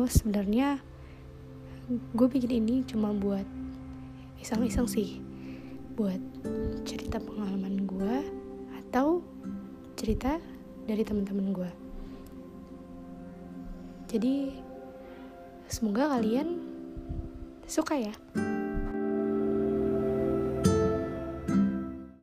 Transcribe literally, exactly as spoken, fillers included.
So sebenarnya gue bikin ini cuma buat iseng-iseng sih, buat cerita pengalaman gue atau cerita dari teman-teman gue. Jadi semoga kalian suka ya.